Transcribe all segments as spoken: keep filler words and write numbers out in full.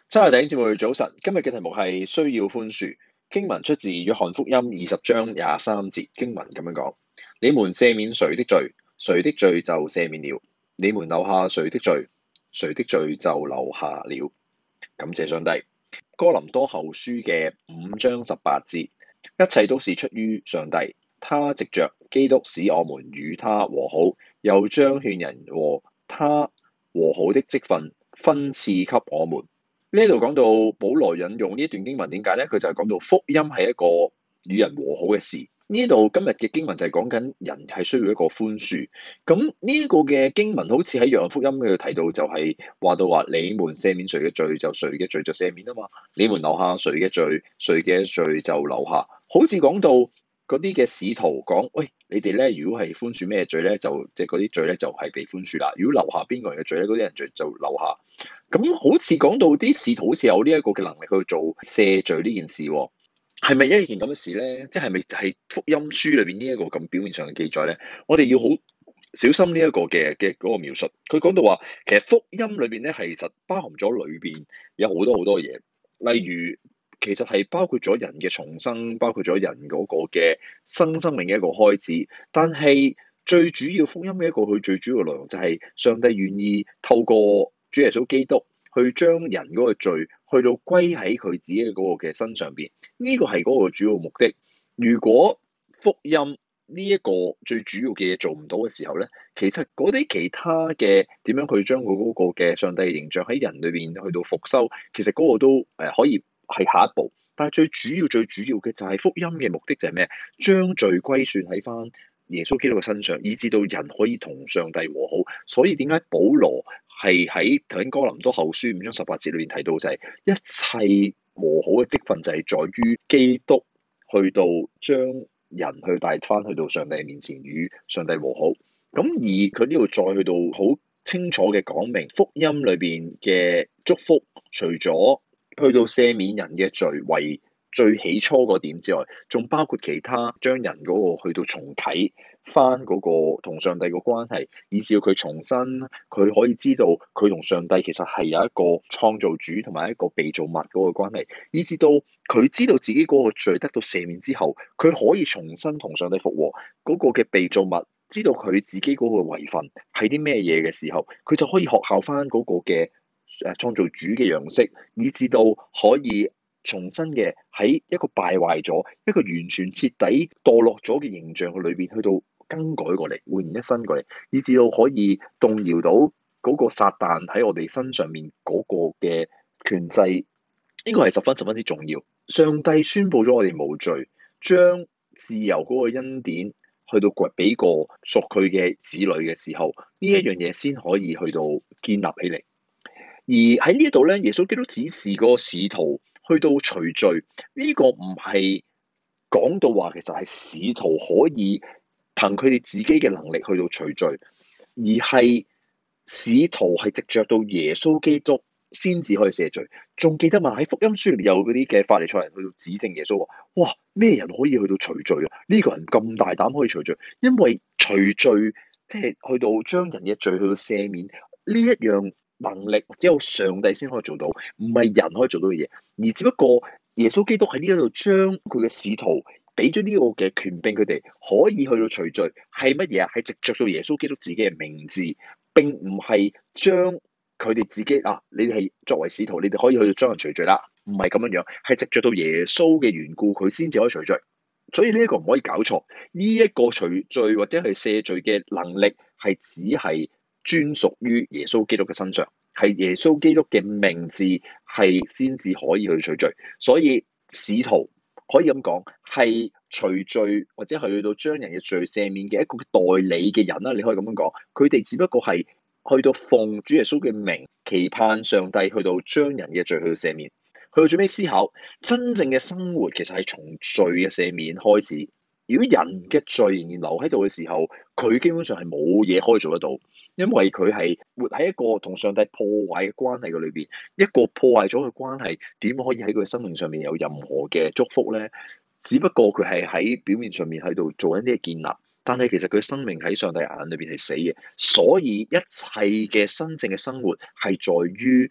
親愛的弟兄姊妹早晨，今日嘅題目係需要寬恕。經文出自約翰福音二十章廿三節，經文咁樣講：你們赦免誰的罪，誰的罪就赦免了；你們留下誰的罪，誰的罪就留下了。感謝上帝。哥林多後書嘅五章十八節，一切都是出於上帝，他藉着基督使我們與他和好，又將勸人和他和好的職分分賜給我們。呢度講到保羅引用呢一段經文，點解咧？佢就係講到福音係一個與人和好嘅事。呢度今日嘅經文就係講緊人係需要一個寬恕。咁呢個嘅經文好似喺約翰福音嗰度提到，就係話到話你們赦免誰嘅罪，就誰嘅罪就赦免啊嘛。你們留下誰嘅罪，誰嘅罪就留下。好似講到嗰啲嘅使徒講，喂，你哋咧如果係寬恕咩罪咧，就即係嗰啲罪咧就係被寬恕啦。如果留下邊個人嘅罪咧，嗰啲人罪就留下。咁好似講到啲使徒好似有呢一個嘅能力去做赦罪呢件事，係咪一件咁嘅事咧？即係咪係福音書裏邊呢一個咁表面上嘅記載咧？我哋要好小心呢一個嘅嘅嗰個描述。佢講到話，其實福音裏邊咧係實包含咗裏邊有好多好多嘢，例如其實係包括咗人嘅重生，包括咗人嗰個嘅新生命嘅一個開始。但係最主要福音嘅一個佢最主要嘅內容就係上帝願意透過主耶穌基督去將人嗰個罪去到歸喺佢自己嘅嗰個嘅身上邊，呢個係嗰個主要目的。如果福音呢一個最主要嘅嘢做唔到嘅時候咧，其實嗰啲其他嘅點樣去將佢嗰個嘅上帝嘅形象喺人裏邊去到復修，其實嗰個都誒可以係下一步。但係最主要最主要嘅就係福音嘅目的就係咩？將罪歸算喺翻耶穌基督嘅身上，以至到人可以同上帝和好。所以點解保羅係喺頭先哥林多後書五章十八節裏面提到，就係一切和好嘅職分就係在於基督去到將人去帶翻去到上帝面前與上帝和好。咁而佢呢度再去到好清楚嘅講明福音裏邊嘅祝福，除咗去到赦免人嘅罪為最起初嗰點之外，仲包括其他將人嗰個去到重啟翻嗰個同上帝嘅關係，以至到佢重新佢可以知道佢同上帝其實係有一個創造主同埋一個被造物嗰個關係，以至到佢知道自己嗰個罪得到赦免之後，佢可以重新同上帝復和。嗰個嘅被造物知道佢自己嗰個遺份係啲咩嘢嘅時候，佢就可以學效翻嗰個嘅誒創造主嘅樣式，以至到可以重新嘅喺一個敗壞咗、一個完全徹底墮落咗嘅形象嘅裏邊，去到更改過嚟、煥然一新過嚟，以至到可以動搖到嗰個撒旦喺我哋身上面嗰個嘅權勢。呢個係十分十分之重要。上帝宣佈咗我哋無罪，將自由嗰個恩典去到掘俾個屬佢嘅子女嘅時候，呢一樣嘢先可以去到建立起嚟。而喺呢一度咧，耶穌基督指示個使徒去到除罪，呢個唔係講到話其實係使徒可以憑佢哋自己嘅能力去到除罪，而係使徒係藉着到耶穌基督先至可以赦罪。仲記得嘛？喺福音書裏面有嗰啲嘅法利賽人去到指證耶穌話：哇，咩人可以去到除罪啊？呢個人咁大膽可以除罪，因為除罪即係去到將人嘅罪去到赦免呢一樣能力，只有上帝先可以做到，唔係人可以做到嘅嘢。而只不過耶穌基督喺呢一度將佢嘅使徒俾咗呢個嘅權柄，佢哋可以去到除罪，係乜嘢啊？係藉着到耶穌基督自己嘅名字，並唔係將佢哋自己啊，你哋係作為使徒，你哋可以去到將人除罪啦，唔係咁樣樣，係藉着到耶穌嘅緣故，佢先至可以除罪。所以呢一個唔可以搞錯，呢一個除罪或者係赦罪嘅能力係只係專屬於耶穌基督嘅身上，係耶穌基督嘅名字係先至可以去除罪。所以使徒可以咁講，係除罪或者係去到將人嘅罪赦免嘅一個代理嘅人啦。你可以咁樣講，佢哋只不過係去到奉主耶穌嘅名，期盼上帝去到將人嘅罪去到赦免。去到最尾思考，真正嘅生活其實係從罪嘅赦免開始。如果人嘅罪仍然留喺度嘅時候，佢基本上係冇嘢可以做得到，因為佢係活喺一個同上帝破壞嘅關係嘅裏邊。一個破壞咗嘅關係，點可以喺佢生命上面有任何嘅祝福咧？只不過佢係喺表面上面喺度做緊啲建立，但係其實佢生命喺上帝眼裏邊係死嘅。所以一切嘅真正嘅生活係在於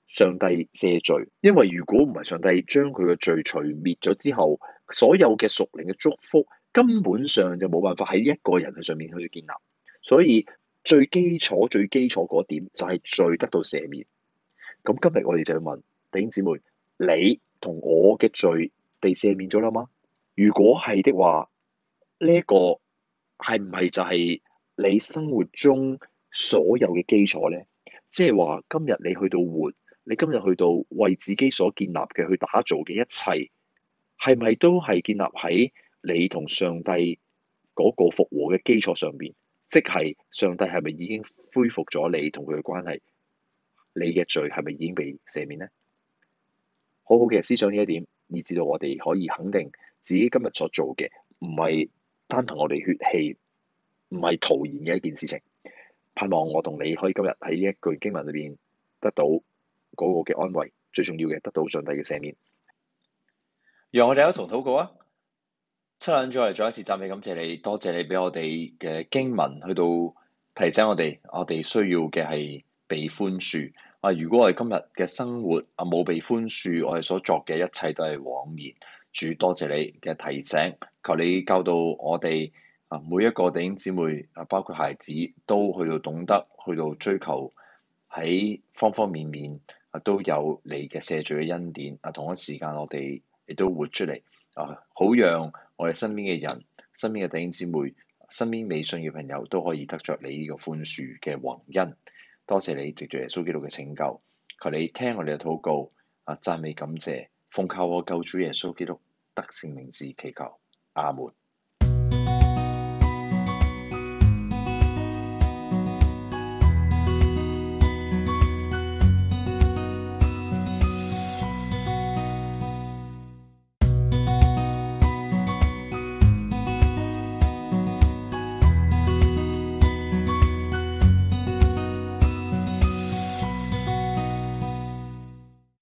上帝赦罪，因為如果唔係上帝將佢嘅罪除滅咗之後，所有嘅屬靈嘅祝福根本上就冇辦法喺一個人嘅上面去建立。所以最基礎、最基礎嗰點就係罪得到赦免。咁今日我哋就要問弟兄姊妹：你同我嘅罪被赦免咗啦嗎？如果係的話，呢一個係唔係就係你生活中所有嘅基礎咧？即係話今日你去到活，你今日去到為自己所建立嘅去打造嘅一切，係咪都係建立喺你同上帝嗰個復和嘅基礎上邊？即係上帝係咪已經恢復咗你同佢嘅關係？你嘅罪係咪已經被赦免呢？好好嘅思想呢一點，以至到我哋可以肯定自己今日所做嘅唔係單憑我哋血氣，唔係徒然嘅一件事情。盼望我同你可以今日喺呢一句經文裏邊得到嗰個嘅安慰，最重要嘅得到上帝嘅赦免。讓我哋一同禱告啊！七兩再嚟再一次讚美感謝你，多謝你俾我哋嘅經文去到提醒我哋，我哋需要嘅係被寬恕。啊，如果我哋今日嘅生活啊冇被寬恕，我哋所作嘅一切都係枉然。主，多謝你嘅提醒，求你教導我哋啊，每一個弟兄姊妹啊，包括孩子，都去到懂得去到追求喺方方面面啊都有你嘅赦罪嘅恩典啊。同一時間，我哋亦都活出嚟啊，好讓我哋身邊嘅人、身邊嘅弟兄姊妹、身邊未信嘅朋友都可以得着你呢個寬恕嘅宏恩。多謝你藉住耶穌基督嘅拯救，求你聽我哋嘅禱告啊，讚美感謝，奉靠我救主耶穌基督得勝名字祈求，阿門。